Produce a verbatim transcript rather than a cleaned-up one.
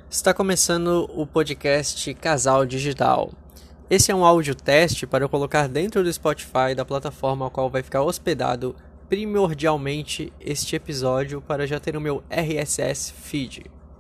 Está começando o podcast Casal Digital. Esse é um áudio teste para eu colocar dentro do Spotify, da plataforma a qual vai ficar hospedado primordialmente este episódio, para já ter o meu R S S feed.